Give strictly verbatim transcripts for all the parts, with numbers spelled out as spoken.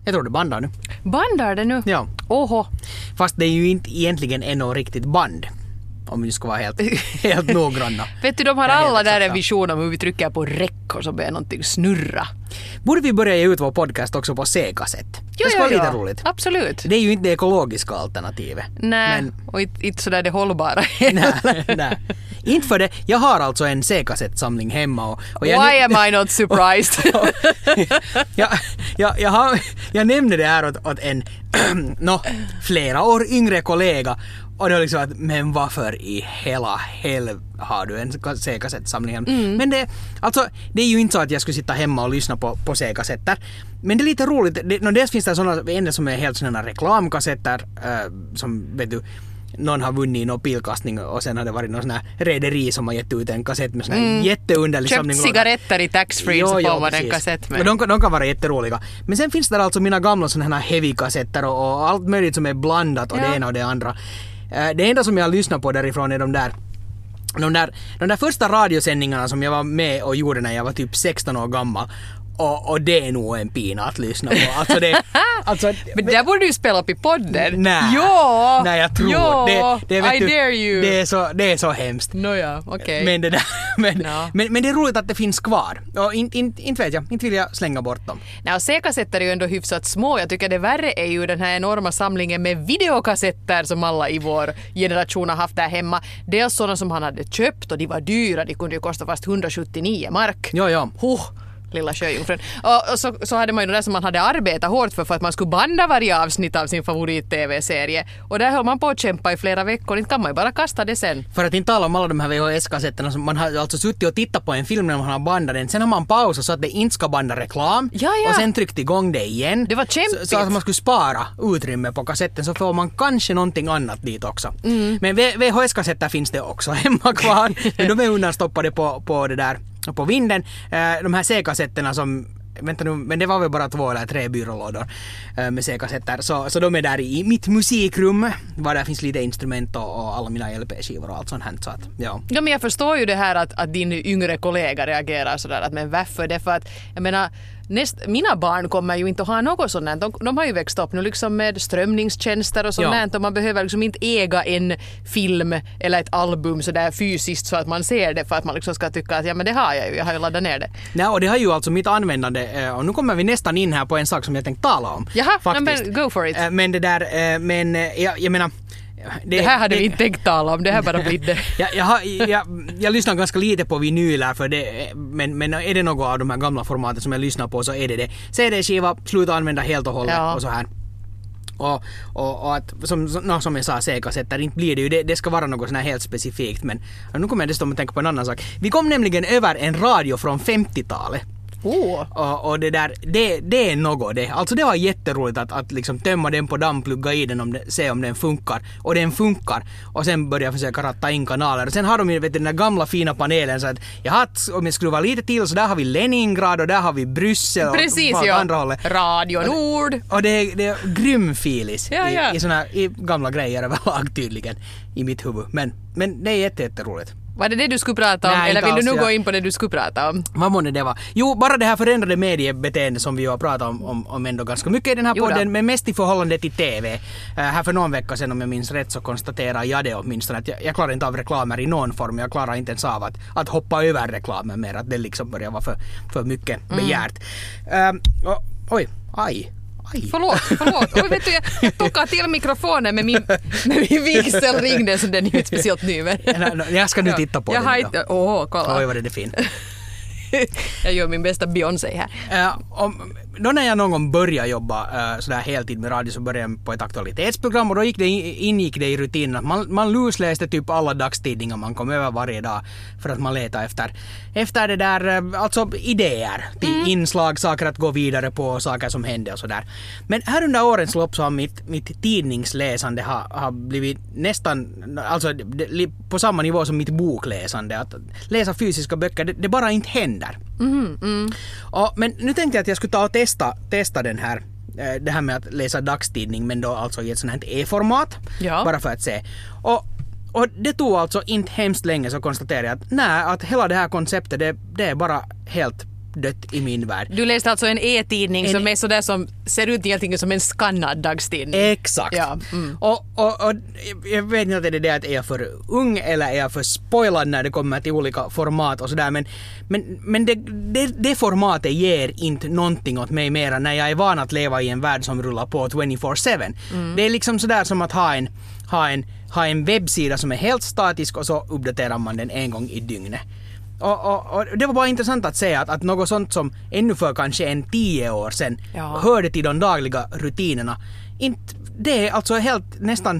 Jag tror det bandar nu. Bandar det nu? Ja. Oho. Fast det är ju inte egentligen ännu riktigt band. Om vi ska vara helt, helt noggranna. Vet du, de har alla där en vision om hur vi trycker på räck och så börjar någonting snurra. Borde vi börja ge ut vår podcast också på C-kassett? Jo, det ska jo, vara lite jo. roligt. Absolut. Det är ju inte det ekologiska alternativet. Nej, men... och inte, inte sådär det hållbara. nej, nej. Inte för det. Jag har alltså en C-kassettsamling hemma. Och, och jag Why am I not surprised? jag, jag, jag, har, jag nämnde det här åt, åt en no, flera år yngre kollega. Och det var liksom att, men varför i hela helv har du en C-kassettsamling? Mm. Men det, alltså, det är ju inte så att jag skulle sitta hemma och lyssna på, på C-kassetter. Men det är lite roligt. Det, no, dels finns det sådana en som är helt sådana reklamkassetter äh, som, vet du, någon har vunnit i någon pilkastning och sen har det varit någon sån här rederi som har gett ut en kassett med sån här mm. jätteunderlig Köpt samling. cigaretter i taxfree så får man en kassett med. De, de kan vara jätteroliga. Men sen finns det alltså mina gamla såna här heavy-kassetter och, och allt möjligt som är blandat och ja. Det ena och det andra. Det enda som jag lyssnar på därifrån är de där, de där de där första radiosändningarna som jag var med och gjorde när jag var typ sexton år gammal. Och, och det är nog en pina att lyssna på. Alltså det, alltså, men där borde du spela upp i podden. Nej, jo, nej jag tror jo, det. det vet I du, dare you. Det är så, det är så hemskt. Nåja, okej. Okay. Men, det där, men, no. men, men det är roligt att det finns kvar. Och inte in, in vet jag, inte vill jag slänga bort dem. Nej, och C-kassetter är ju ändå hyfsat små. Jag tycker det värre är ju den här enorma samlingen med videokassetter som alla i vår generation har haft där hemma. Dels sådana som han hade köpt och de var dyra. De kunde ju kosta fast hundrasjuttionio mark. Ja, ja. Huh. Lilla sjöjungfrun. Och, och så, så hade man ju det som man hade arbetat hårt för för att man skulle banda varje avsnitt av sin favorit-tv-serie. Och där höll man på att kämpa i flera veckor. Inte kan man ju bara kasta det sen. För att inte tala om alla de här V H S-kassetterna som man har alltså suttit och tittat på en film när man har bandat den. Sen har man pausat så att det inte ska banda reklam. Ja, ja. Och sen tryckt igång det igen. Det var kämpigt. Så, så att man skulle spara utrymme på kassetten så får man kanske någonting annat dit också. Mm. Men V H S-kassetter finns det också hemma kvar. Men de är undanstoppade på, på det där på vinden. De här C-kassetterna som vänta nu, men det var väl bara två eller tre byrålådor med C-kassetter. Så, så de är där i mitt musikrum. Var där finns lite instrument och, och alla mina L P-skivor och allt sånt här. Så att, ja. Ja, men jag förstår ju det här att, att din yngre kollega reagerar sådär. Att, men varför? Det för att, jag menar, näst, mina barn kommer ju inte att ha något sånt. De, de har ju växt upp nu liksom med strömningstjänster och sånt ja. Och man behöver liksom inte äga en film eller ett album sådär fysiskt så att man ser det för att man liksom ska tycka att ja, men det har jag ju, jag har ju laddat ner det. Nej, och det har ju alltså mitt användande och nu kommer vi nästan in här på en sak som jag tänkte tala om. Jaha, faktiskt. Men go for it. Men det där, men jag, jag menar Det, det här hade det, vi inte tänkt tala om, det här bara blir det. jag, jag, jag, jag lyssnar ganska lite på vinyler för det, men, men är det något av de här gamla formaten som jag lyssnar på så är det det. C D-skiva, sluta använda helt och hållet ja. Och så här. Och, och, och att, som, no, som jag sa, C-kassetter, inte blir det ju, det, det ska vara något sån här helt specifikt, men nu kommer jag dessutom att tänka på en annan sak. Vi kom nämligen över en radio från femtiotalet. Oh. Och, och det där, det, det är något det. Alltså det var jätteroligt att, att liksom tömma den på damm, plugga i den, om det, se om den funkar. Och den funkar. Och sen börja försöka ratta in kanaler. Och sen har de ju vet du, den där gamla fina panelen så att jag har, om jag skruvar lite till så där har vi Leningrad och där har vi Bryssel. Precis, och ja. andra hållet. Radio Nord. Och, och det, det är grym filis ja, ja. I, i såna i gamla grejer överlag tydligen i mitt huvud. Men, men det är jätte, jätteroligt. Var det det du skulle prata om? Nej, eller vill alls, du nu ja. gå in på det du skulle prata om? Vad månne det var? Jo, bara det här förändrade mediebeteende som vi har pratat om, om, om ändå ganska mycket i den här podden, men mest i förhållande till T V. Uh, här för någon vecka sedan, om jag minns rätt, så konstaterar jag det åtminstone att jag, jag klarar inte av reklamer i någon form. Jag klarar inte ens av att, att hoppa över reklamen mer, att det liksom börjar vara för, för mycket begärt. Mm. Uh, och, oj, aj. Aj. Förlåt, förlåt. Oj, vet du, jag, jag tog till mikrofonen med min, med min vigselring, den som den är inte speciellt ny. Men... Jag ska nu titta på jag den. Jag har inte... Åh, oh, kolla. Oj, vad det är fint. Jag gör min bästa Beyoncé här. Uh, om, då när jag någon gång började jobba uh, sådär heltid med radio så började jag på ett aktualitetsprogram och då gick det, ingick det i rutinen att man, man lusläste typ alla dagstidningar man kom över varje dag för att man letade efter, efter det där, uh, alltså idéer till mm. inslag, saker att gå vidare på, saker som hände och sådär. Men här under årens lopp så har mitt, mitt tidningsläsande har, har blivit nästan, alltså på samma nivå som mitt bokläsande. Att läsa fysiska böcker, det, det bara inte händer. Mm, mm. Och, men nu tänkte jag att jag skulle ta och testa, testa den här, det här med att läsa dagstidning men då alltså i ett sånt här e-format. Ja. Bara för att se. Och, och det tog alltså inte hemskt länge så konstaterade jag att nej, att hela det här konceptet det, det är bara helt dött i min värld. Du läste alltså en e-tidning En- som är sådär som ser ut egentligen som en skannad dagstidning. Exakt. Ja, mm. Och, och, och jag vet inte att det är det att är jag för ung eller är jag för spoilad när det kommer till olika format och sådär, men, men, men det, det, det formatet ger inte någonting åt mig mera när jag är van att leva i en värld som rullar på tjugofyra sju. Mm. Det är liksom sådär som att ha en, ha, en, ha en webbsida som är helt statisk och så uppdaterar man den en gång i dygnet. Och, och, och det var bara intressant att säga att, att något sånt som ännu för kanske en tio år sedan Ja. hörde till de dagliga rutinerna. Inte, det är alltså helt nästan,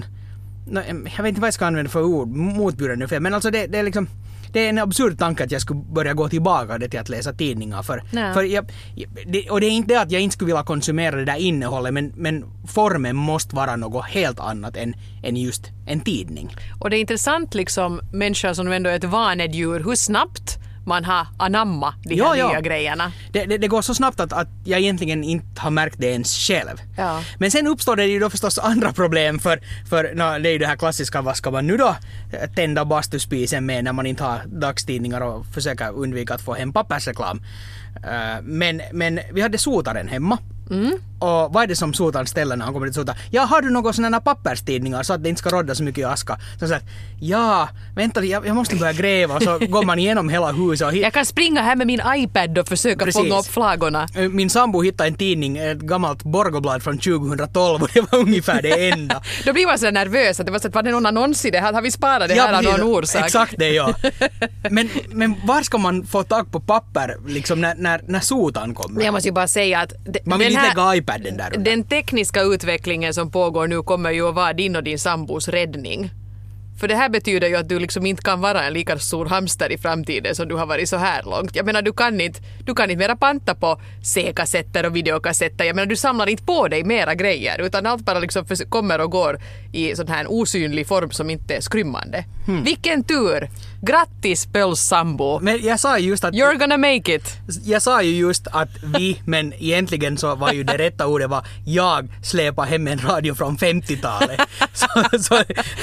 jag vet inte vad jag ska använda för ord, motbjudande nu, för, men alltså det, det är liksom, det är en absurd tanke att jag skulle börja gå tillbaka till att läsa tidningar. För, Nej. för jag, det, och det är inte det att jag inte skulle vilja konsumera det där innehållet, men, men formen måste vara något helt annat än, än just en tidning. Och det är intressant liksom, människor som ändå är ett vanedjur, hur snabbt man har anamma de här Ja, nya ja. grejerna. Det, det, det går så snabbt att, att jag egentligen inte har märkt det ens själv. Ja. Men sen uppstår det ju då förstås andra problem för, för no, det är ju det här klassiska, vad ska man nu då tända bastuspisen med när man inte har dagstidningar och försöker undvika att få hem pappersreklam. Uh, men, men vi hade sotaren hemma. Mm. Och vad är det som sotaren ställer när han kommer till sota? Ja, har du några sådana papperstidningar så att det inte ska rodda så mycket i aska? Så att ja, vänta, jag, jag måste börja gräva, och så går man igenom hela huset och hit. Jag kan springa här med min iPad och försöka Precis. fånga upp flagorna. Min sambo hittade en tidning, ett gammalt Borgoblad från tjugotolv, och det var ungefär det enda. Då blir man så nervös att det var så att var det någon annons i det här? Har vi sparat det här av precis. någon orsak? Exakt det, ja. Men, men var ska man få tag på papper liksom när, när, när sotan kommer? Jag måste ju bara säga att de, Man vill den, inte här, lägga iPaden där under. den tekniska utvecklingen som pågår nu kommer ju att vara din och din sambos räddning. För det här betyder ju att du liksom inte kan vara en lika stor hamster i framtiden som du har varit så här långt. Jag menar, du kan inte, du kan inte mera panta på C-kassetter och videokassetter. Jag menar, du samlar inte på dig mera grejer, utan allt bara liksom för, kommer och går i sån här osynlig form som inte är skrymmande. Hmm. Vilken tur! Grattis, Pöls sambo! Men jag sa ju just att... You're gonna make it! Jag sa ju just att vi, men egentligen så var ju det rätta ordet var jag släpar hem en radio från femtiotalet. så, så,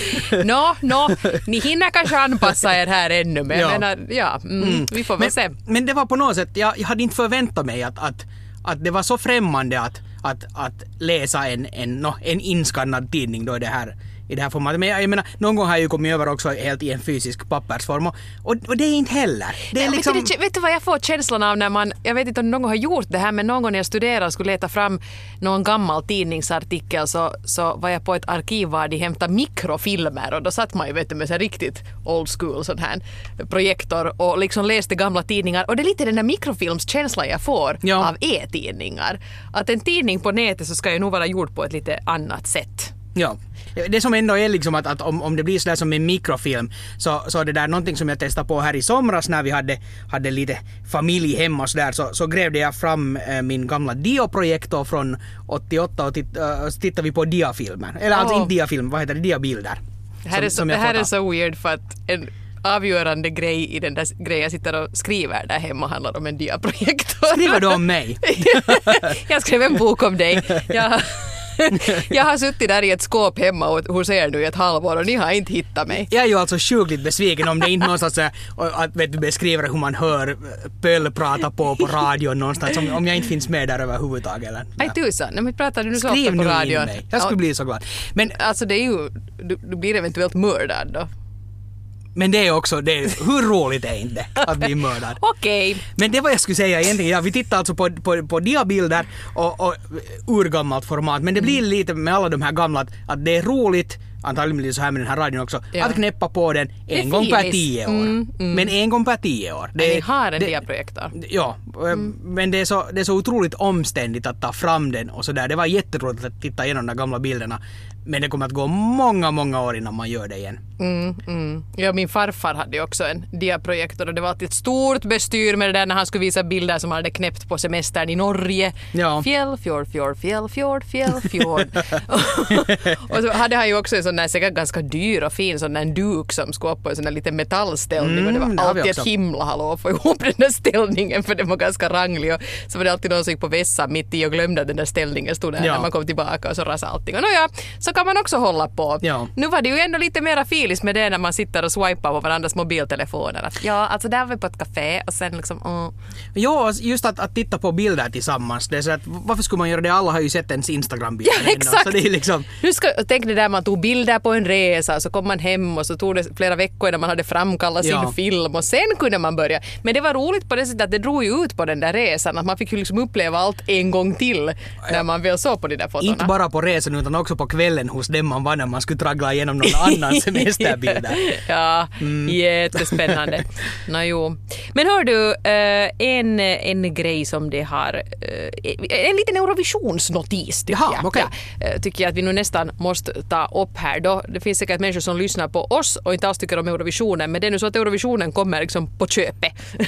Nå, nå, ni hinner kanske anpassa er här ännu, men Ja. jag menar, ja, mm, Mm. vi får väl men, se. Men det var på något sätt, jag, jag hade inte förväntat mig att, att, att det var så främmande att, att, att läsa en, en, no, en inskannad tidning då i det här, i det här formatet. Men jag, jag menar, någon gång har jag ju kommit över också helt i en fysisk pappersform, och, och, och det är inte heller. Det är Nej, liksom... vet, du, vet du vad jag får känslan av när man, jag vet inte om någon har gjort det här, men någon gång när jag studerade och skulle leta fram någon gammal tidningsartikel, så, så var jag på ett arkiv var de hämtade mikrofilmer, och då satt man ju vet du, med så riktigt old school sån här projektor och liksom läste gamla tidningar, och det är lite den där mikrofilmskänslan jag får Ja. av e-tidningar. Att en tidning på nätet så ska ju nog vara gjord på ett lite annat sätt. Ja. Det som ändå är liksom att, att om, om det blir sådär som en mikrofilm, så, så är det där någonting som jag testade på här i somras när vi hade, hade lite familj hemma och sådär, så, så grävde jag fram äh, min gamla dioprojektor från åttioåtta och titt, äh, så tittade vi på diafilmer. Eller alltså Oh. inte diafilm, vad heter det? Diabilder. Det här, Som- är, så, som det jag här fått är av. så weird för att en avgörande grej i den där grejen jag sitter och skriver där hemma handlar om en diaprojektor. Skriver du om mig? Jag skrev en bok om dig. Jag, jag har suttit där i ett skåp hemma och hos er nu i ett halvår och ni har inte hittat mig. Jag är ju alltså sjukligt besviken om det inte någonstans är, att vet du, beskriver hur man hör Pöll prata på på radion någonstans, om, om jag inte finns med där överhuvudtaget. Eller? Nej tusan, nej, men pratar du nu så Skriv ofta på nu in radion? mig. Jag skulle Ja, bli så glad. Men, alltså det är ju, du, du blir eventuellt mördad då. men det är också, det är, hur roligt är inte det att bli mördad? Okej. Men det var jag skulle säga egentligen, ja, vi tittar alltså på, på, på diabilder och, och urgammalt format, men det blir lite med alla de här gamla att, att det är roligt, antagligen blir det så här med den här radion också, Ja. att knäppa på den är en gång per filis. tio år. Mm, mm. Men en gång per tio år. Ni har en det, diaprojektor. Ja, mm. men det är, så, det är så otroligt omständigt att ta fram den och sådär. Det var jätteroligt att titta igenom de gamla bilderna, men det kommer att gå många, många år innan man gör det igen. Mm, mm. Ja, min farfar hade ju också en diaprojektor och det var alltid ett stort bestyr med det där när han skulle visa bilder som han hade knäppt på semestern i Norge. Ja. Fjäll, fjord, fjord, fjäll, fjord, fjäll, fjord. Och så hade han ju också en sån där säkert ganska dyr och fin sån där duk som skulle upp på en sån där liten metallställning Mm, och det det var har vi alltid ett också. himla hallå att få ihop den där ställningen för det var ganska ranglig och så var det alltid någon som gick på vässan mitt i och glömde att den där ställningen stod där ja. när man kom tillbaka och så rasade allting. Och ja, så kan man också hålla på. Ja. Nu var det ju ändå lite mera filis med det när man sitter och swipar på varandras mobiltelefoner. Att, ja, alltså där var vi på ett café och sen liksom... Mm. Ja, just att, att titta på bilder tillsammans. Det är så att, varför skulle man göra det? Alla har ju sett ens Instagram-bilder. Ja, exakt. Så det är liksom... Nu ska, tänk det där man tog bilder på en resa och så kom man hem och så tog det flera veckor innan man hade framkallat sin ja. film och sen kunde man börja. Men det var roligt på det sättet att det drog ju ut på den där resan. Att man fick ju liksom uppleva allt en gång till när ja. man väl såg på de där fotona. Inte bara på resan utan också på kvällen hos dem man var när man skulle traggla igenom någon annan semesterbilder. Ja, mm. jättespännande. no, jo. Men hör du, en, en grej som det har, en liten Eurovisionsnotis tycker Jaha, jag. okay. Ja, tycker jag att vi nu nästan måste ta upp här då. Det finns säkert människor som lyssnar på oss och inte alls tycker om Eurovisionen, men det är nu så att Eurovisionen kommer liksom på köpet.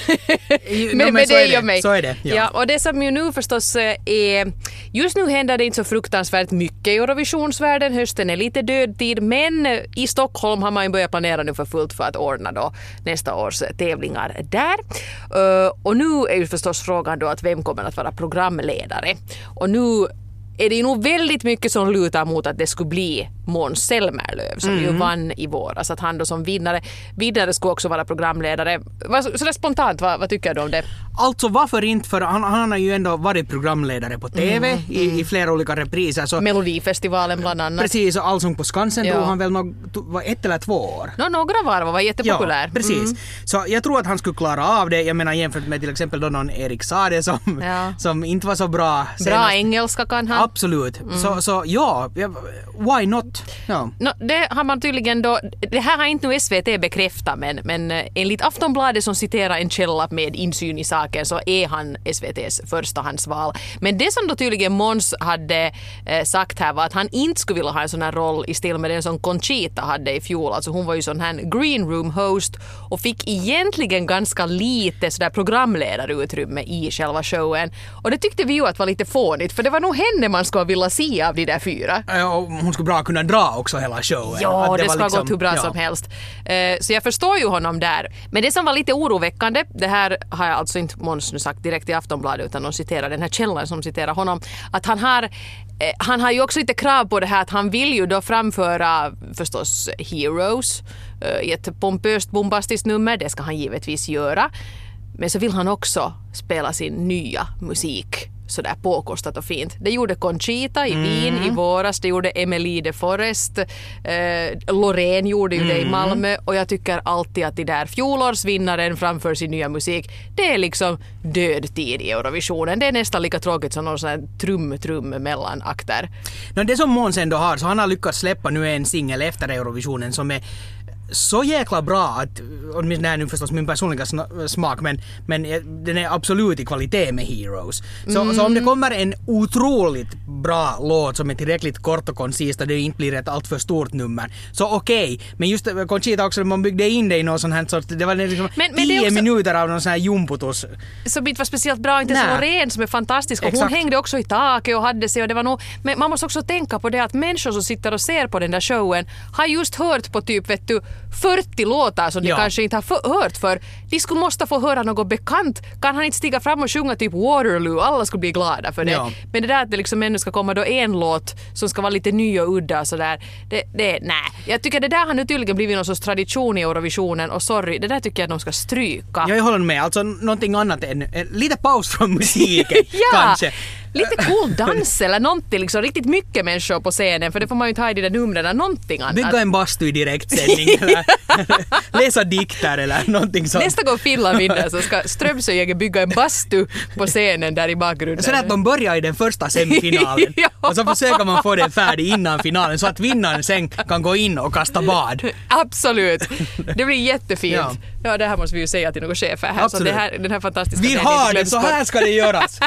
men, men med dig och mig. Så är det. Ja. Ja, och det som ju nu förstås är, just nu händer det inte så fruktansvärt mycket i Eurovisionsvärlden. Hösten är lite död tid, men i Stockholm har man ju börjat planera nu för fullt för att ordna då nästa års tävlingar där. Uh, och nu är ju förstås frågan då att vem kommer att vara programledare. Och nu är det ju nog väldigt mycket som lutar mot att det skulle bli Måns Zelmerlöw som mm. ju vann i våras. Att han då som vinnare, vinnare skulle också vara programledare. Så det spontant, vad, vad tycker du om det? Alltså varför inte? För han, han har ju ändå varit programledare på T V mm. i, i flera olika repriser. Så Melodifestivalen bland annat. Precis, och Allsång på Skansen ja. drog han väl no, var ett eller två år. No, några var var jättepopulär. Ja, precis. Mm. Så jag tror att han skulle klara av det. Jag menar jämfört med till exempel då någon Erik Saade som, ja. som inte var så bra. Senast. Bra engelska kan han. Absolut. Mm. Så, så ja, why not? Ja. No, det har man tydligen då, det här har inte nu S V T bekräftat, men, men enligt Aftonbladet som citerar en källa med insyn i saken så är han S V T:s förstahandsval. Men det som då tydligen Måns hade eh, sagt här var att han inte skulle vilja ha en sån här roll i stil med den som Conchita hade i fjol. Alltså hon var ju sån här green room host och fick egentligen ganska lite sådär programledarutrymme i själva showen. Och det tyckte vi ju att var lite fånigt, för det var nog henne man skulle vilja se av de där fyra. Ja, och hon skulle bra kunna dra också hela showen. Ja, att det, det ska liksom, gått hur bra ja. som helst. Uh, så jag förstår ju honom där. Men det som var lite oroväckande, det här har jag alltså inte Måns nu sagt direkt i Aftonbladet utan de citerar den här källan som citerar honom, att han har eh, han har ju också lite krav på det här att han vill ju då framföra förstås Heroes uh, i ett pompöst bombastiskt nummer, det ska han givetvis göra. Men så vill han också spela sin nya musik sådär påkostat och fint. Det gjorde Conchita i mm. Wien i våras, det gjorde Emily de Forest, eh, Loreen gjorde ju mm. det i Malmö, och jag tycker alltid att de där fjolårsvinnaren framför sin nya musik, det är liksom död tid i Eurovisionen. Det är nästan lika tråkigt som någon sån här trum-trum mellan akter. No, det som Måns ändå har, så han har lyckats släppa nu en singel efter Eurovisionen som är så jäkla bra att, och det är nu förstås min personliga smak, men, men den är absolut i kvalitet med Heroes. Så, mm. så om det kommer en otroligt bra låt som är tillräckligt kort och koncist och det inte blir ett allt för stort nummer, så okej. Okay. Men just Conchita också, man byggde in det i någon sån här sorts, det var liksom men, men tio också minuter av någon sån här jumputus. Som inte var speciellt bra, inte så ren som är fantastisk. Och exakt. Hon hängde också i taket och hade sig, och det var nog, men man måste också tänka på det att människor som sitter och ser på den där showen har just hört på typ, vet du, fyrtio låtar som de ja. kanske inte har för, hört för. De skulle måste få höra något bekant. Kan han inte stiga fram och sjunga typ Waterloo? Alla skulle bli glada för det. Ja. Men det där att det liksom ännu ska komma då en låt som ska vara lite ny och udda så där. Det, det, nej. Jag tycker det där har nu tydligen blivit någon sorts tradition i Eurovisionen, och sorry, det där tycker jag att de ska stryka. Jag håller med. Alltså någonting annat än eh, lite paus från musiken ja. kanske. Lite cool dans eller någonting, liksom riktigt mycket människor på scenen, för det får man ju ta i de där numren, någonting annat. Bygga en bastu i direktsändning eller läsa dikter eller någonting sånt. Nästa gång Finland vinner så ska Strömsöjäger bygga en bastu på scenen där i bakgrunden. Så att de börjar i den första semifinalen ja. och så försöker man få den färdig innan finalen så att vinnaren sen kan gå in och kasta bad. Absolut. Det blir jättefint. Ja, ja det här måste vi ju säga till några chefer här. Så det här, den här fantastiska... Vi har det, så här ska det göras.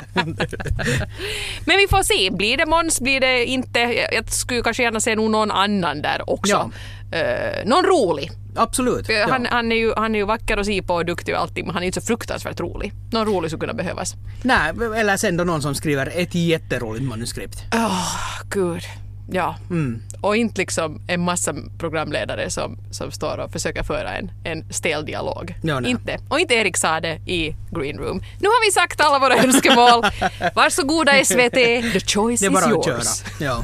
Men vi får se, blir det Måns, blir det inte, jag skulle kanske gärna se någon annan där också. Ja. Uh, någon rolig. Absolut. Han, ja. han, är ju, han är ju vacker och si på och duktig och allting, men han är inte så fruktansvärt rolig. Någon rolig skulle kunna behövas. Nej, eller sen då någon som skriver ett jätteroligt manuskript. Åh, oh, gud. Ja, Mm. och inte liksom en massa programledare som, som står och försöker föra en, en stel dialog. Ja, nej. Inte. Och inte Erik Sade i Green Room. Nu har vi sagt alla våra önskemål. Varsågoda S V T, the choice Det är bara is att köra. yours. Ja.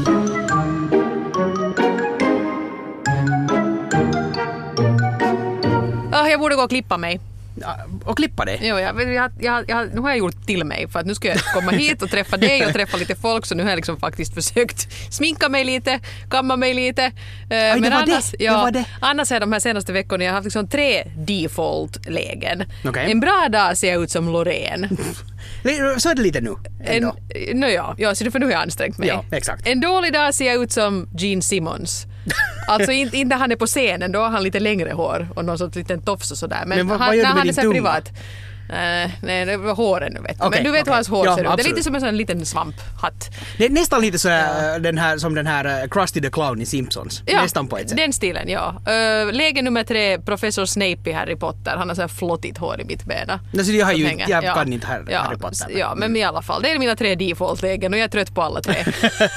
Oh, jag borde gå och klippa mig. Ja, och klippa det. Jo, jag, jag, jag, jag, nu har jag gjort till mig för att nu ska jag komma hit och träffa dig och träffa lite folk, så nu har jag liksom faktiskt försökt sminka mig lite, kamma mig lite. Uh, Aj, det var annars, det. Ja, Det var det. annars är de här senaste veckorna jag har haft liksom tre default-lägen. Okej. En bra dag ser jag ut som Loreen. Så är det lite nu. En, ändå. no, ja, ja, så för nu har jag ansträngt mig. Ja, exakt. En dålig dag ser jag ut som Gene Simmons. Alltså inte, inte han är på scenen, då har han lite längre hår och någon sorts liten tofs och sådär. Men, Men vad- han, vad gör du när med han är din så tunga? privat. Uh, nej, det var håren nu vet du. Okej, Men du vet okej. hur hans hår Ja, ser ut. Det är absolut. lite som en sån liten svamphatt. Det är nästan lite så här, den här, som den här uh, Krusty the Clown i Simpsons. Ja, Nästan på ett sätt. den stilen, ja. Uh, läge nummer tre, professor Snape i Harry Potter. Han har så här flottigt hår i mittbena. Alltså, jag har ju, Hänger. jag Ja. kan inte Harry, ja, Harry Potter. Ja, men i alla fall. Det är mina tre default-lägen och jag är trött på alla tre.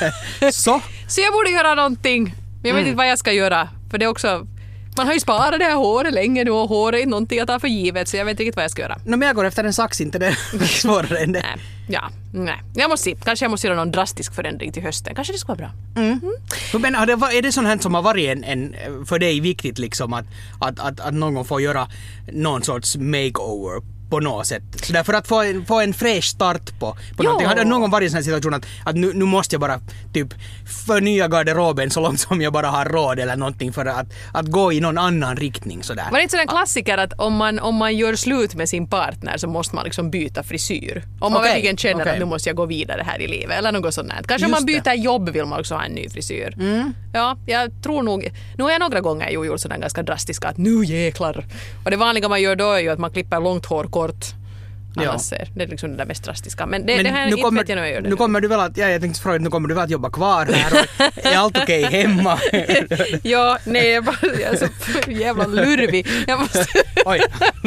Så? Så jag borde göra någonting. Men jag vet Mm. inte vad jag ska göra. För det är också... Man har ju sparat det här håret länge nu och håret är någonting jag tar för givet, så jag vet inte riktigt vad jag ska göra. No, men jag går efter en sax, inte det är svårare än det. Nej, ja, nej. Jag måste se. Kanske jag måste göra någon drastisk förändring till hösten. Kanske det ska vara bra. Mm. Men har det, är det sånt här som har varit en, en, för dig viktigt liksom att, att, att, att någon får göra någon sorts makeover på något sätt? Så därför att få en, få en fräsch start på, på någonting. Har det någon gång varit i en sån här situation att, att nu, nu måste jag bara typ förnya garderoben så långt som jag bara har råd eller någonting för att, att gå i någon annan riktning sådär? Var det inte sån en klassiker att om man, om man gör slut med sin partner så måste man liksom byta frisyr? Om man Okej, verkligen känner okej. att nu måste jag gå vidare här i livet eller något sånt där. Kanske om Just man det. byter jobb vill man också ha en ny frisyr. Mm. Ja, jag tror nog... Nu har jag några gånger ju gjort sådana ganska drastiska att nu jäklar. Och det vanliga man gör då är ju att man klipper långt hår kort. Ja. Annars är det är liksom det där mest drastiska. Men det, Men det här nu inte kommer, vet jag nu jag gör det. nu kommer du väl att, ja, jag tänkte fråga, nu kommer du väl att jobba kvar här och är allt okej hemma? Ja, nej, jag, bara, jag är så jävla lurvig. Jag måste... Oj.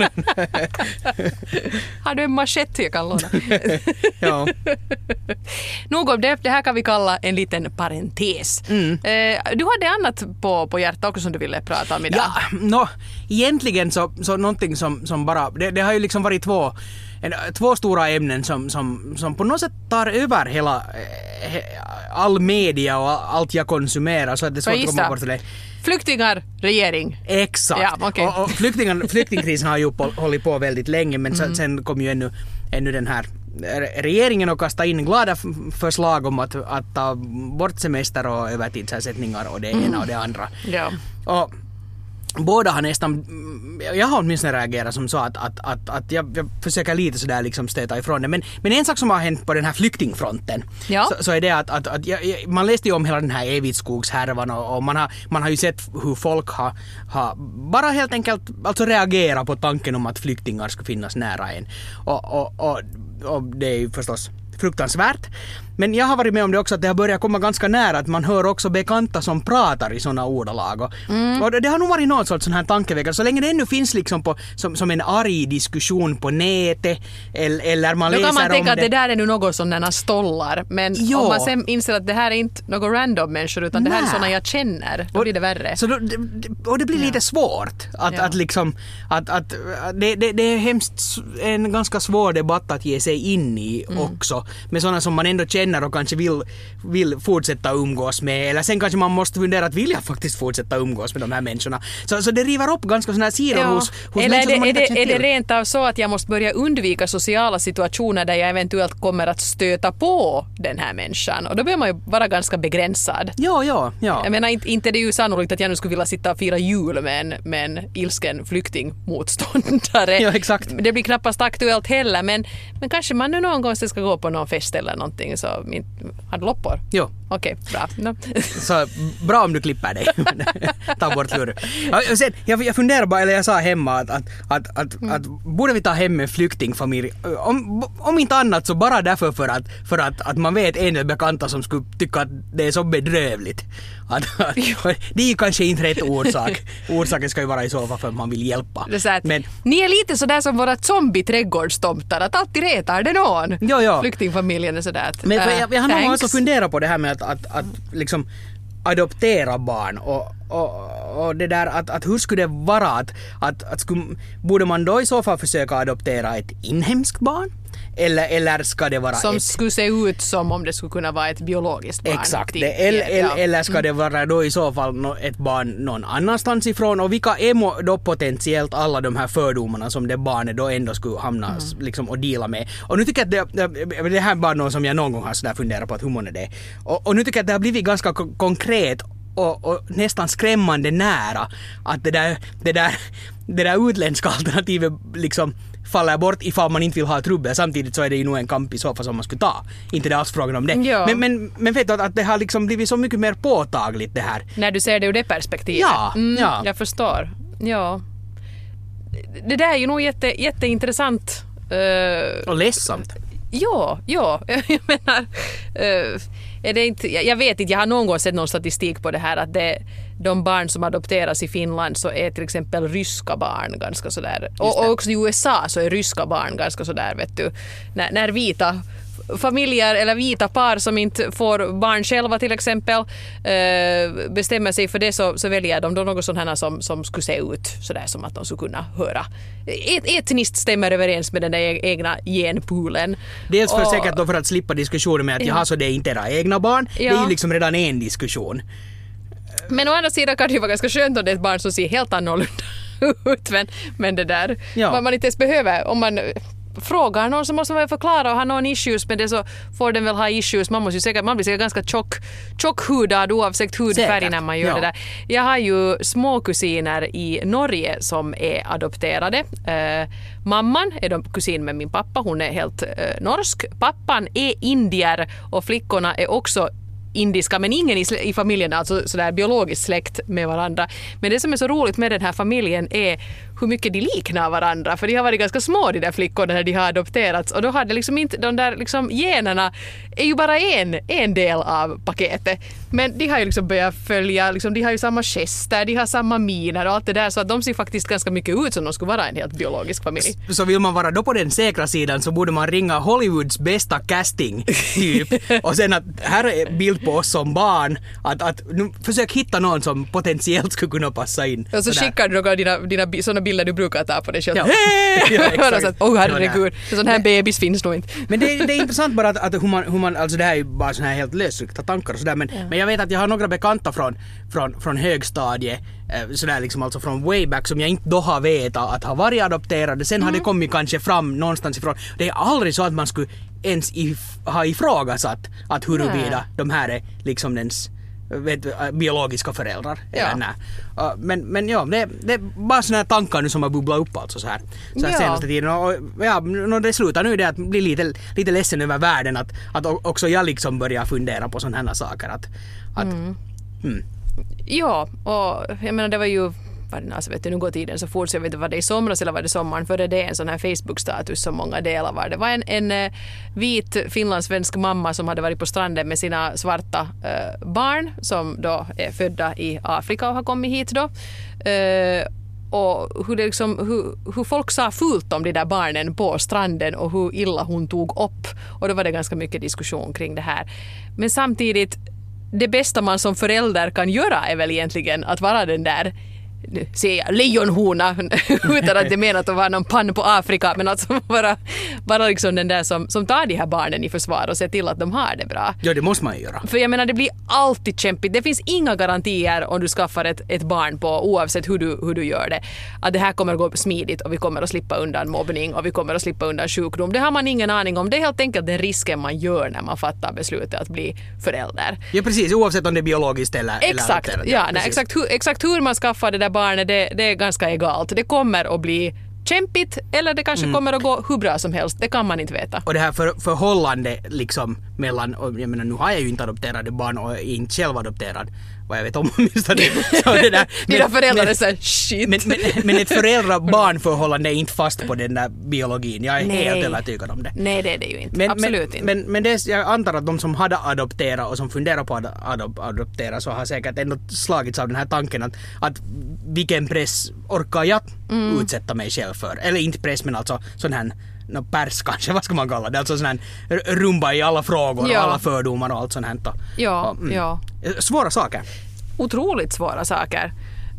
Har du en machete jag kan låna? Ja. Nog om det, det här kan vi kalla en liten parentes. Mm. Eh, du hade annat på, på hjärtat också som du ville prata om idag. Ja, no, egentligen så, så någonting som, som bara, det, det har ju liksom varit två, en, två stora ämnen som, som, som på något sätt tar över hela, eh, he, all media och allt jag konsumerar, så att det är Får jag svårt att komma gissa? bort till det. Flyktingar, regering. Exakt. Ja, okej. Och, och flyktingar, flyktingkrisen har ju på, hållit på väldigt länge, men sen, sen kom ju ännu, ännu den här regeringen och kasta in glada f- förslag om att, att ta bort semester och övertidsersättningar och det ena och det andra. Ja. Och båda har nästan, jag har åtminstone reagerat som så att, att, att, att jag, jag försöker lite sådär liksom stöta ifrån det. Men, men en sak som har hänt på den här flyktingfronten, Ja. så, så är det att, att, att jag, jag, man läste ju om hela den här Evitskogshärvan och, och man, har, man har ju sett hur folk har, har bara helt enkelt alltså reagerat på tanken om att flyktingar ska finnas nära en. Och, och, och, och det är ju förstås fruktansvärt. Men jag har varit med om det också att det har börjat komma ganska nära att man hör också bekanta som pratar i såna ordalag. Och, Mm. och det, det har nog varit någon sorts sån här tankeväckare. Så länge det ännu finns liksom på, som, som en arg diskussion på nätet eller, eller man Då läser kan man om tänka att det. det där är nu något sådana stollar. Men Ja. om man sen inser att det här är inte några random människor utan det här är Nej. sådana jag känner, då blir det värre. Så då, det, och det blir lite svårt att, Ja. att liksom att, att det, det, det är hemskt s- en ganska svår debatt att ge sig in i Mm. också med sådana som man ändå känner och kanske vill, vill fortsätta umgås med, eller sen kanske man måste fundera att vill jag faktiskt fortsätta umgås med de här människorna. Så, så det river upp ganska sådana här sidor hos, hos Eller är människor det, som man är, inte det, känner är det till. rent av så att jag måste börja undvika sociala situationer där jag eventuellt kommer att stöta på den här människan? Och då behöver man ju vara ganska begränsad. Ja, ja, ja. Jag menar, inte, inte det är ju sannolikt att jag nu skulle vilja sitta och fira jul med en, med en ilsken flyktingmotståndare. Ja, exakt. Det blir knappast aktuellt heller, men, men kanske man nu någon gång ska gå på någon fest eller någonting. Så min, har du loppor? Jo. Okej, bra. No. Så bra om du klipper dig. Ta bort lur. Ja, och sen, jag, jag funderar bara, eller jag sa hemma att, att, att, att, Mm. att borde vi ta hem en flyktingfamilj? Om, om inte annat så bara därför för att, för att, att man vet en eller bekanta som skulle tycka att det är så bedrövligt. Att, att, det är ju kanske inte rätt orsak. Orsaken ska ju vara i så fall för att man vill hjälpa. Det är så att, Men, ni är lite sådär som våra zombie-trädgårdstomtar, att alltid retar det någon. Ja, ja. Flyktingfamiljen är sådär att, men för äh, jag, jag har nog thanks. också funderat på det här med att, att, att, att liksom adoptera barn och, och, och det där att, att hur skulle det vara att, att, att skulle, borde man då i så fall försöka adoptera ett inhemskt barn eller, eller ska det vara som ett... skulle se ut som om det skulle kunna vara ett biologiskt barn. Exakt, det, eller, ja. eller ska det vara då i så fall ett barn någon annanstans ifrån och vilka är då potentiellt alla de här fördomarna som det barnet då ändå skulle hamna mm. liksom, och deala med. Och nu tycker jag att det, det, det här är bara något som jag någon gång har sådär funderat på att hur många det är. Och, och nu tycker jag att det har blivit ganska k- konkret och, och nästan skrämmande nära att det där, det där, det där utländska alternativet liksom faller bort ifall man inte vill ha trubbel. Samtidigt så är det ju nog en kamp i så fall som man skulle ta. Inte det alls frågan om det. Ja. Men, men, men vet du att det har liksom blivit så mycket mer påtagligt det här. När du ser det ur det perspektivet. Ja, mm, ja. Jag förstår. Ja. Det där är ju nog jätte, jätteintressant. Uh, och ledsamt. Ja, ja. Jag menar... Uh, är det inte, jag vet inte, jag har någon gång sett någon statistik på det här att det, de barn som adopteras i Finland så är till exempel ryska barn ganska sådär. Och, och också i U S A så är ryska barn ganska sådär, vet du. När, när vita familjer eller vita par som inte får barn själva till exempel eh, bestämmer sig för det så, så väljer de då något sånt här som, som skulle se ut sådär som att de skulle kunna höra. Et, etniskt stämmer överens med den där egna genpoolen. Dels för och, säkert då för att slippa diskussionen med att ja. jaha, så det är inte era egna barn. Ja. Det är ju liksom redan en diskussion. Men å andra sidan kan det ju vara ganska skönt om det är ett barn som ser helt annorlunda ut. Men, men det där, ja. man, man inte ens behöver, om man frågar någon så måste man förklara och ha någon issues med det så får den väl ha issues. Man, måste ju säkert, man blir säkert ganska tjock, tjockhudad oavsett hudfärg säkert. När man gör ja. det där. Jag har ju små kusiner i Norge som är adopterade. Eh, mamman är de kusin med min pappa, hon är helt eh, norsk. Pappan är indier och flickorna är också indiska, men ingen i, i familjen, alltså sådär biologiskt släkt med varandra. Men det som är så roligt med den här familjen är hur mycket de liknar varandra, för de har varit ganska små de där flickorna när de har adopterats och då hade liksom inte, de där liksom generna är ju bara en, en del av paketet. Men de har ju liksom börjat följa, liksom, de har ju samma gester, de har samma miner och allt det där, så att de ser faktiskt ganska mycket ut som de skulle vara en helt biologisk familj. Så vill man vara då på den säkra sidan så borde man ringa Hollywoods bästa casting typ och sen att här är bild på oss som barn, att, att nu, försök hitta någon som potentiellt skulle kunna passa in. Och så skickar du några dina, dina sådana bilder du brukar ta på dig själv. Ja. Ja, exakt. Åh, oh, herregud. En sån här men, bebis finns nog inte. Men det, det är intressant bara att, att hur, man, hur man, alltså det här är ju bara såna här helt lösryckta tankar och sådär, men, ja. men jag vet att jag har några bekanta från, från, från högstadiet, sådär liksom alltså från way back som jag inte då har vetat att ha varit adopterade. Sen mm. har det kommit kanske fram någonstans ifrån. Det är aldrig så att man skulle ens if, ha ifrågasatt att huruvida de här är liksom dens vet, biologiska föräldrar. Ja. Eller uh, men, men ja, det, det är bara såna här tankar nu som har bubblat upp alltså så här, så här ja. senaste tiden. Och, ja, det slutar nu det att bli lite, lite ledsen över världen att, att också jag liksom börjar fundera på sådana här saker. Att, att, mm. Hmm. Ja, och jag menar det var ju alltså vet du, nu går tiden så fort så jag vet inte vad det är i somras eller var det sommaren före det en sån här Facebook-status som många delar var. Det var en, en uh, vit finlandssvensk mamma som hade varit på stranden med sina svarta uh, barn som då är födda i Afrika och har kommit hit då. Uh, och hur, det liksom, hur, hur folk sa fult om de där barnen på stranden och hur illa hon tog upp. Och då var det ganska mycket diskussion kring det här. Men samtidigt, det bästa man som förälder kan göra är väl egentligen att vara den där ser jag, lejonhona utan att det menar att vara någon pann på Afrika, men alltså vara, vara liksom den där som, som tar de här barnen i försvar och ser till att de har det bra. Ja, det måste man göra. För jag menar, det blir alltid kämpigt. Det finns inga garantier om du skaffar ett, ett barn på, oavsett hur du, hur du gör det, att det här kommer att gå smidigt och vi kommer att slippa undan mobbning och vi kommer att slippa undan sjukdom. Det har man ingen aning om. Det är helt enkelt den risken man gör när man fattar beslutet att bli förälder. Ja, precis. Oavsett om det är biologiskt eller... Exakt. eller ja, nej, exakt, hur, exakt hur man skaffar det där barnet, det, det är ganska egalt. Det kommer att bli kämpigt eller det kanske mm. kommer att gå hur bra som helst. Det kan man inte veta. Och det här för, förhållande liksom mellan, och jag menar nu har jag ju inte adopterade barn och är inte själv adopterad. Vad jag vet om minsta det. Så det där. Dina föräldrar är så här, shit. Men, men, men ett föräldrar-barnförhållande är inte fast på den där biologin. Jag är Nej. helt övertygad om det. Nej, det är det ju inte. Men, Absolut men, inte. Men, men det, jag antar att de som hade adopterat och som funderar på att adop, adoptera så har säkert ändå slagits av den här tanken att, att vilken press orkar jag mm. utsätta mig själv för? Eller inte press, men alltså sån här no, pärs kanske, vad ska man kalla det? Alltså sån här rumba i alla frågor ja. och alla fördomar och allt sånt här. Ja, och, mm. ja. Svåra saker. Otroligt svåra saker.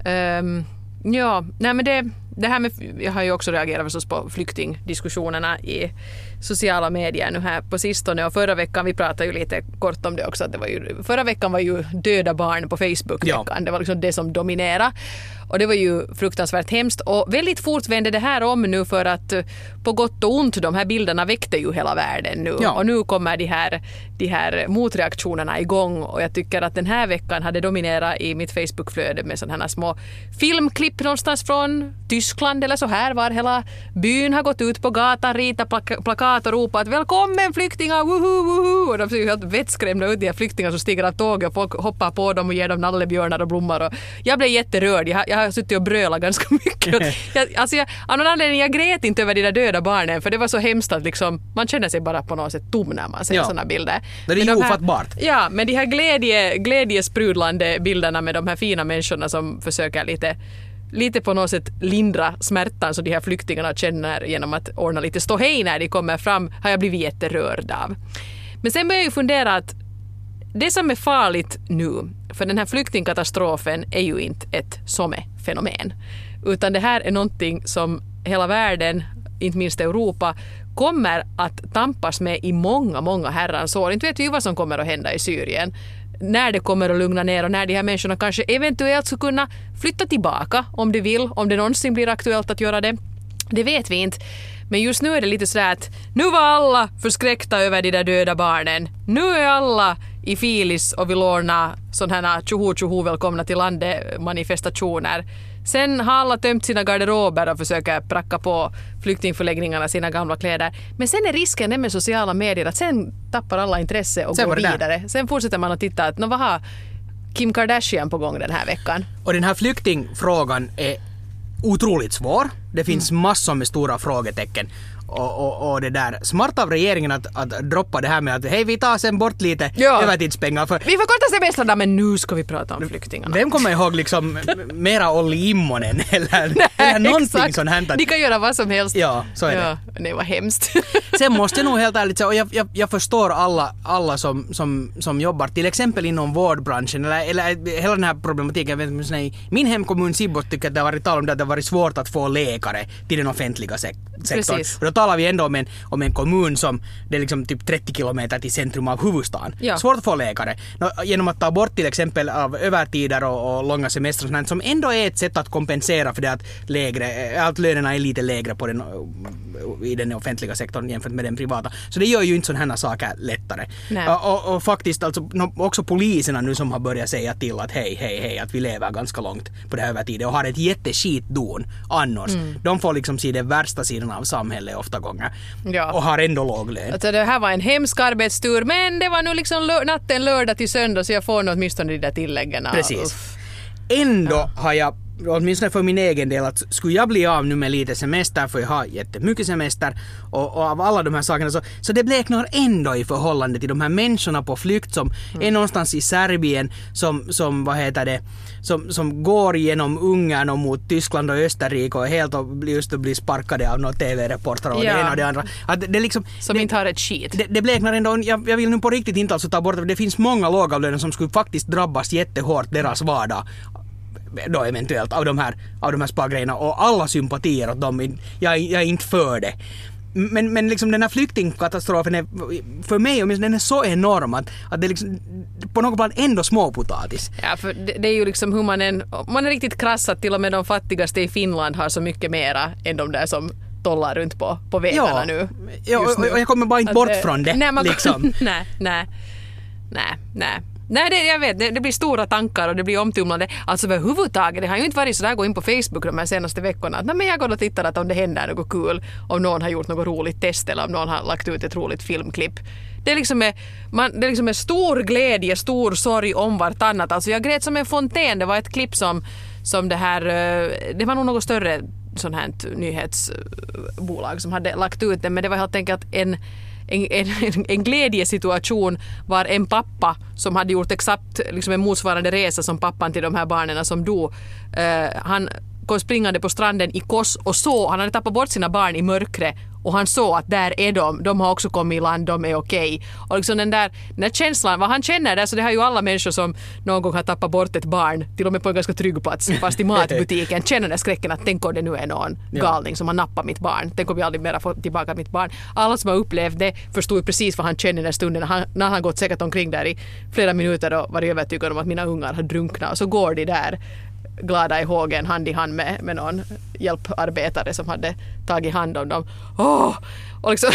Um, ja, nej men det, det här med, jag har ju också reagerat förstås på flyktingdiskussionerna i sociala medier nu här på sistone, och förra veckan, vi pratade ju lite kort om det också, att det var ju, förra veckan var ju döda barn på Facebook-veckan, ja. Det var liksom det som dominerade, och det var ju fruktansvärt hemskt, och väldigt fort vände det här om nu, för att på gott och ont, de här bilderna väckte ju hela världen nu, ja. Och nu kommer de här, de här motreaktionerna igång, och jag tycker att den här veckan hade dominerat i mitt Facebook-flöde med sådana här små filmklipp någonstans från Tyskland eller så här, var hela byn har gått ut på gatan, ritat plak- plakat och ropat välkommen flyktingar, woho, woho, och de ser ju helt vettskrämda ut, de här flyktingar som stiger av tåget, och folk hoppar på dem och ger dem nallebjörnar och blommor, och jag blev jätterörd, jag, jag har suttit och brölat ganska mycket. jag, alltså jag, av någon anledning, jag grät inte över de där döda barnen, för det var så hemskt att liksom, man känner sig bara på något sätt tom när man ser ja. sådana bilder. Det är ju de ofattbart. Ja, men de här glädje, glädjesprudlande bilderna med de här fina människorna som försöker lite lite på något sätt lindra smärtan som de här flyktingarna känner genom att ordna lite ståhej när de kommer fram, har jag blivit jätterörd av. Men sen börjar jag ju fundera att det som är farligt nu, för den här flyktingkatastrofen är ju inte ett somme-fenomen, utan det här är någonting som hela världen, inte minst Europa, kommer att tampas med i många, många herrans år. Inte vet vi ju vad som kommer att hända i Syrien, när det kommer att lugna ner och när de här människorna kanske eventuellt ska kunna flytta tillbaka om de vill, om det någonsin blir aktuellt att göra det. Det vet vi inte. Men just nu är det lite sådär att nu var alla förskräckta över de där döda barnen. Nu är alla i filis och vill ordna sådana här tjoho tjoho välkomna till landet manifestationer. Sen har alla tömt sina garderober och försöker pracka på flyktingförläggningarna sina gamla kläder. Men sen är risken med sociala medier att sen tappar alla intresse och sen går vidare. Där. Sen fortsätter man att titta att vad har Kim Kardashian på gång den här veckan. Och den här flyktingfrågan är otroligt svår. Det finns mm. massor med stora frågetecken. Och, och, och det där smart av regeringen att, att droppa det här med att hej, vi tar sen bort lite ja. övertidspengar. För vi förkortar semestrarna, men nu ska vi prata om flyktingarna. Vem kommer ihåg liksom mera Olli Immonen eller, nej, eller någonting sånt här? De kan göra vad som helst. Ja, så är ja, det. Det var hemskt. Sen måste jag nog helt ärligt säga, och jag, jag, jag förstår alla, alla som, som, som jobbar till exempel inom vårdbranschen eller, eller hela den här problematiken. Jag vet, i min hemkommun Sibbos tycker att det har varit tal om det att det har varit svårt att få läkare till den offentliga sek- sektorn. Precis. Och då talar vi ändå om en, om en kommun som det är liksom typ trettio kilometer till centrum av huvudstaden. Ja. Svårt att få läkare. Nå, genom att ta bort till exempel av övertider och, och långa semestrar sånt, som ändå är ett sätt att kompensera för det att lägre, allt lönerna är lite lägre på den, i den offentliga sektorn jämfört med den privata. Så det gör ju inte sådana här saker lättare. Och, och, och faktiskt alltså, också poliserna nu som har börjat säga till att hej, hej, hej, att vi lever ganska långt på det här övertiden och har ett jätteskitdon annars. Mm. De får liksom se den värsta sidan av samhället ofta gånger. Ja. Och har ändå låg lön. Alltså det här var en hemsk arbetstur, men det var nu liksom lö- natten lördag till söndag, så jag får nog åtminstone de där tilläggen. Precis. Uff. Ändå ja. har jag, åtminstone för min egen del, att skulle jag bli av nu med lite semester, för jag har jättemycket semester och, och av alla de här sakerna, så, så det bleknar ändå i förhållande till de här människorna på flykt som mm. är någonstans i Serbien, som, som vad heter det, som, som går genom Ungern och mot Tyskland och Österrike och helt och just blir sparkade av några tv-reportrar och ja. det ena och det andra. Att det, det liksom, som det, inte har ett skit. Det, det bleknar ändå, jag, jag vill nu på riktigt inte alltså ta bort det, det finns många lågavlönade som skulle faktiskt drabbas jättehårt deras vardag då eventuellt av de här, av de här spargrejerna, och alla sympatier åt dem, jag, jag är inte för det. Men, men liksom den här flyktingkatastrofen är för mig, den är så enorm att, att det liksom på något plan ändå småpotatis. Ja, för det, det är ju liksom hur man är, man är riktigt krass att till och med de fattigaste i Finland har så mycket mera än de där som tollar runt på, på vägarna ja, nu. Ja, och, och jag kommer bara inte bort att, från det. Nej, man, liksom. nej, nej, nej, nej. Nej, det, jag vet, det, det blir stora tankar och det blir omtumlande. Alltså överhuvudtaget, det har ju inte varit så där gå in på Facebook de här senaste veckorna. Nej, men jag går och tittar att om det händer något kul, om någon har gjort något roligt test eller om någon har lagt ut ett roligt filmklipp. Det är liksom är, man, det är liksom är stor glädje, stor sorg om vartannat. Alltså jag grät som en fontän. Det var ett klipp som, som det här, det var nog något större sån här nyhetsbolag som hade lagt ut det, men det var helt enkelt en En, en, en glädjesituation var en pappa som hade gjort exakt liksom en motsvarande resa som pappan till de här barnen som dog. Uh, han kom springande på stranden i Kos och så, han hade tappat bort sina barn i mörkret och han såg att där är de, de har också kommit i land, de är okej. Och liksom den där, den där känslan, vad han känner där, så det har ju alla människor som någon gång har tappat bort ett barn, till och med på en ganska trygg plats, fast i matbutiken, känner den skräcken att tänk om det nu är någon galning som har nappat mitt barn, tänk om jag aldrig mer får tillbaka mitt barn. Alla som har upplevt det förstod ju precis vad han känner den stunden, han, när han gått säkert omkring där i flera minuter och varit övertygad om att mina ungar har drunknat, och så går de där glada i hågen hand i hand med, med någon hjälparbetare som hade tagit hand om dem. Oh! Och, liksom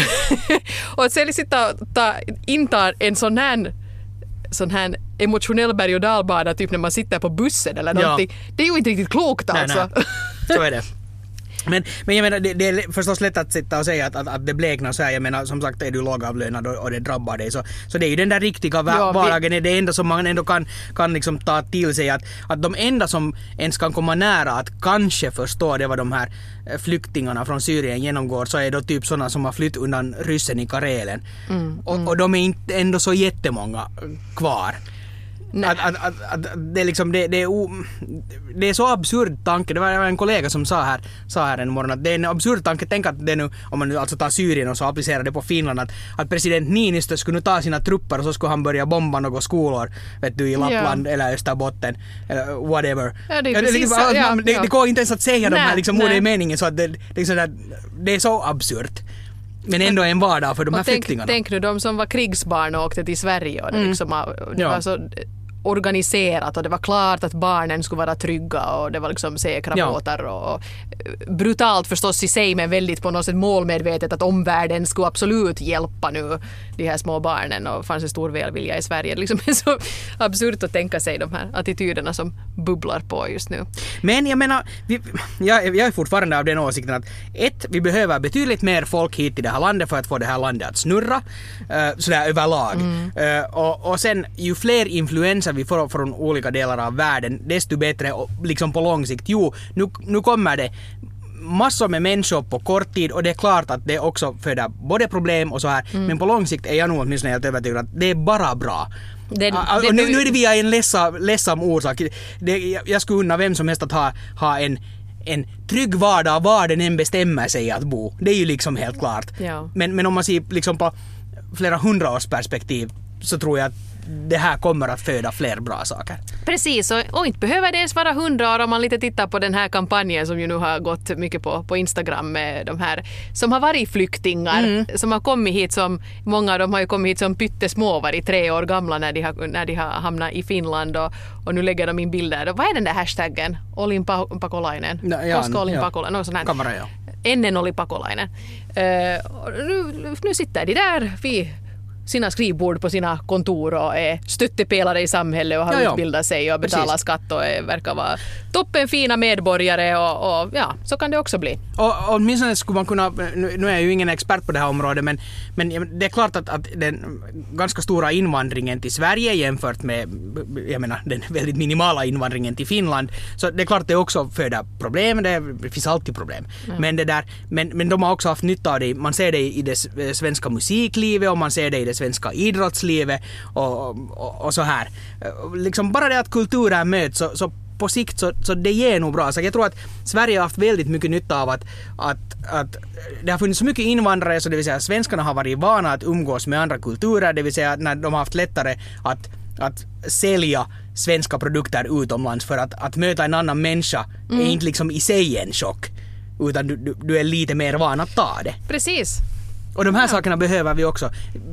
och att sen sitta och ta, inta en sån här, sån här emotionell berg- och dalbana typ när man sitter på bussen eller någonting. Ja. Det är ju inte riktigt klokt alltså. Nej, nej. Så är det. Men, men jag menar, det, det är förstås lätt att sitta och säga att, att, att det bleknar så här. Jag menar, som sagt, är du lågavlönad och, och det drabbar dig. Så, så det är ju den där riktiga ja, vardagen, vi... det enda som man ändå kan, kan liksom ta till sig. Att, att de enda som ens kan komma nära att kanske förstå det vad de här flyktingarna från Syrien genomgår, så är då typ sådana som har flytt undan ryssen i Karelen. Mm, och, mm. och de är inte ändå så jättemånga kvar. Att, att, att, att det, är liksom, det, det, är o, det är så absurd tanke. Det var en kollega som sa här, sa här en morgon att det är en absurd tanke. Tänk att det nu, om man nu alltså tar Syrien och så applicerar det på Finland, att, att president Niinistö skulle nu ta sina trupper och så skulle han börja bomba några skolor, vet du, i Lappland ja. eller Österbotten eller whatever. Ja, det, är precis, det, det, ja, det, ja. det går inte ens att säga nej, de här liksom, ord i meningen, så att det, det, är så där, det är så absurt. Men ändå en vardag för de här tänk, flyktingarna. Tänk nu de som var krigsbarn och åkte till Sverige och det, mm. liksom, det ja. var så organiserat och det var klart att barnen skulle vara trygga och det var liksom säkra ja. båtar och, och brutalt förstås i sig, men väldigt på något sätt målmedvetet att omvärlden skulle absolut hjälpa nu de här små barnen, och fanns en stor välvilja i Sverige. Det liksom är så absurt att tänka sig de här attityderna som bubblar på just nu. Men jag menar, vi, jag, jag är fortfarande av den åsikten att ett, vi behöver betydligt mer folk hit i det här landet för att få det här landet att snurra uh, sådär överlag. Mm. Uh, och, och sen ju fler influenser vi får från olika delar av världen, desto bättre liksom på lång sikt. Jo, nu, nu kommer det massor med människor på kort tid, och det är klart att det också föder både problem och så här, mm. men på lång sikt är jag nog åtminstone helt övertygad att det är bara bra. Det, det, och nu, nu är det via en lessa, ledsam orsak. Det, jag, jag skulle unna vem som helst att ha, ha en, en trygg vardag var den än bestämmer sig att bo. Det är ju liksom helt klart. Ja. Men, men om man ser liksom på flera hundra års perspektiv, så tror jag att det här kommer att föda fler bra saker. Precis, och, och inte behöver det ens vara hundra år om man lite tittar på den här kampanjen som ju nu har gått mycket på, på Instagram med de här som har varit flyktingar, mm. som har kommit hit som, många av dem har ju kommit hit som pyttesmå, varit tre år gamla när de har, när de har hamnat i Finland, och, och nu lägger de in bilder. Och vad är den där hashtaggen? Olin Pakolainen? No, ja, Koska Olin ja. Pakolainen? Något sånt här. Kamera, ja. Ennen oli Pakolainen. Uh, nu, nu sitter de där vid sina skrivbord på sina kontor och är stöttepelare i samhället och har ja, utbildat sig och betalar precis. skatt och är, verkar vara toppen fina medborgare, och, och ja, så kan det också bli. Och, och åtminstone skulle man kunna, nu, nu är jag ju ingen expert på det här området, men, men det är klart att, att den ganska stora invandringen till Sverige jämfört med, jag menar, den väldigt minimala invandringen till Finland, så det är klart att det också föder problem, det finns alltid problem. Mm. Men, det där, men, men de har också haft nytta av det, man ser det i det svenska musiklivet och man ser det i det svenska idrottslivet och, och, och så här. Liksom bara det att kulturen möts, så, så på sikt så, så det ger nog bra. Så jag tror att Sverige har haft väldigt mycket nytta av att, att, att det har funnits så mycket invandrare, så det vill säga svenskarna har varit vana att umgås med andra kulturer, det vill säga när de har haft lättare att, att sälja svenska produkter utomlands, för att, att möta en annan människa mm. är inte liksom i sig en chock, utan du, du, du är lite mer van att ta det. Precis. Och de här ja. sakerna behöver vi också.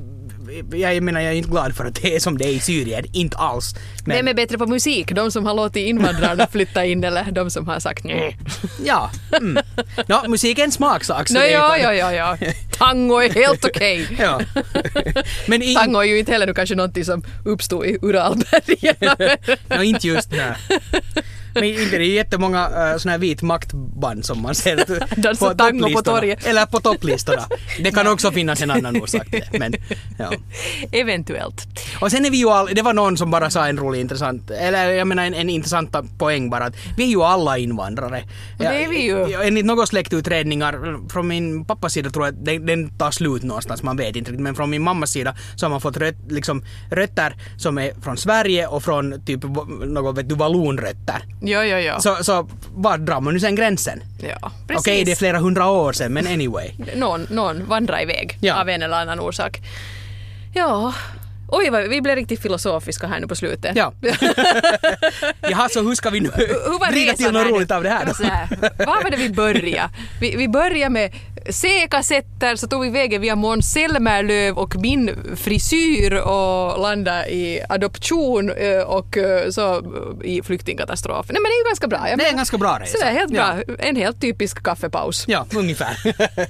Jag menar, jag är inte glad för att det är som det är i Syrien, inte alls. Men vem är bättre på musik? De som har låtit invandrarna flytta in, eller de som har sagt nej? Ja, mm. no, musik är en smaksak. No, ja, ja, ja, ja. Tango är helt okej. Okay. Ja. Men in... Tango är ju inte heller kanske något som uppstod i Uralbergen. no, inte just det. Men inte det är ju jättemånga uh, såna här vit maktband som man ser på tango på torget. Eller på topplistorna. Det kan också finnas en annan orsak till det. Men, ja. Eventuellt. Och sen är vi ju all, det var någon som bara sa en rolig intressant, eller jag menar en, en intressant poäng bara, att vi är ju alla invandrare. Det är vi ju. Enligt några släktutredningar från min pappas sida tror jag att den, den tar slut någonstans, man vet inte riktigt, men från min mammas sida så har man fått röt, liksom, rötter som är från Sverige och från typ något vet du, vallonrötter. Jo, jo, jo. Så, så var drar man nu sen gränsen? Ja, Okej, okay, det är flera hundra år sedan, men anyway. Någon, någon vandrar iväg ja. av en eller annan orsak. Ja... Oj, vad, vi blev riktigt filosofiska här nu på slutet. Ja. Jaha, så hur ska vi nu vrida till något roligt av det här då? Här, vad var det vi började? Vi, vi började med C-kassetter, så tog vi vägen via Måns Zelmerlöw och min frisyr och landade i adoption och så i flyktingkatastrof. Nej, men det är ju ganska bra. Jag det är en ganska bra resa. Så det är helt bra. Ja. En helt typisk kaffepaus. Ja, ungefär.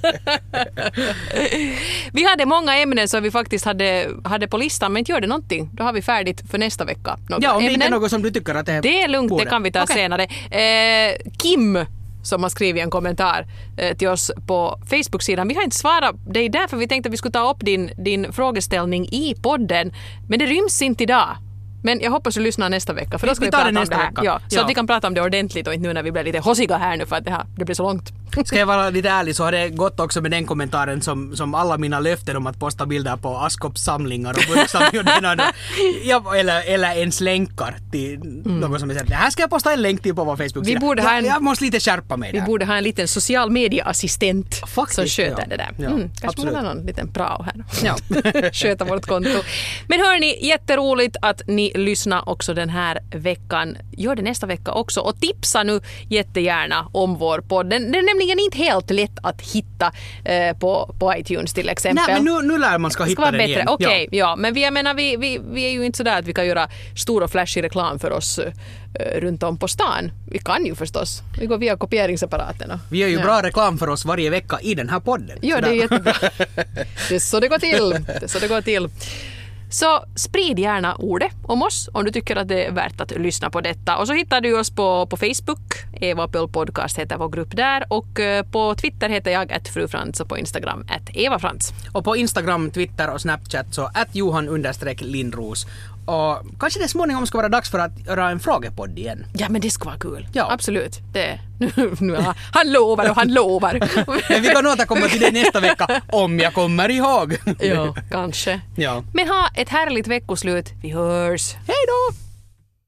Vi hade många ämnen som vi faktiskt hade, hade på listan, men inte gör det någonting. Då har vi färdigt för nästa vecka. Några ja, om det ämnen. inte är något som du tycker att det är... Det är lugnt, borde. det kan vi ta okay. senare. Eh, Kim, som har skrivit en kommentar eh, till oss på Facebook-sidan. Vi har inte svarat dig där, för vi tänkte att vi skulle ta upp din, din frågeställning i podden. Men det ryms inte idag. Men jag hoppas du lyssnar nästa vecka, för då ska vi, vi prata om det här. Ja, så ja. att vi kan prata om det ordentligt och inte nu när vi blir lite hossiga här nu för att det, här, det blir så långt. Ska jag vara lite ärlig så har det gått också med den kommentaren som, som alla mina löften om att posta bilder på Askops samlingar och burksamlingar ja, eller, eller ens länkar till mm. något som är såhär, det här ska jag posta en länk till på vår Facebook-sida. Jag, jag måste lite skärpa mig vi där. Vi borde ha en liten social media-assistent Faktiskt, som sköter ja. det där. Ja, mm, kanske absolut. man har någon liten prao här. Ja. Sköta vårt konto. Men hörni, jätteroligt att ni lyssnar också den här veckan. Gör det nästa vecka också och tipsa nu jättegärna om vår podd. Den, den är nämligen inte helt lätt att hitta eh, på, på iTunes till exempel. Nej, men nu, nu lär man ska, ska hitta den bättre. igen. Okej, okay, ja. ja. Men vi, jag menar, vi, vi, vi är ju inte sådär att vi kan göra stor och flashig reklam för oss eh, runt om på stan. Vi kan ju förstås. Vi går via kopieringsapparaten. Och, vi gör ju ja. bra reklam för oss varje vecka i den här podden. Ja, det är jättebra. Det är så det går till. Det är så det går till. Så sprid gärna ordet om oss om du tycker att det är värt att lyssna på detta. Och så hittar du oss på, på Facebook. Eva Pöl Podcast heter vår grupp där. Och på Twitter heter jag att frufrans och på Instagram att Eva Frans. Och på Instagram, Twitter och Snapchat så att Johan understreck Lindros. Och kanske det småningom ska vara dags för att göra en frågepodd igen. Ja, men det ska vara kul. Ja. Absolut. Det, nu, nu, han lovar och han lovar. Men vi kan återkomma till det nästa vecka om jag kommer ihåg. Ja, kanske. Ja. Men ha ett härligt veckoslut. Vi hörs. Hej då!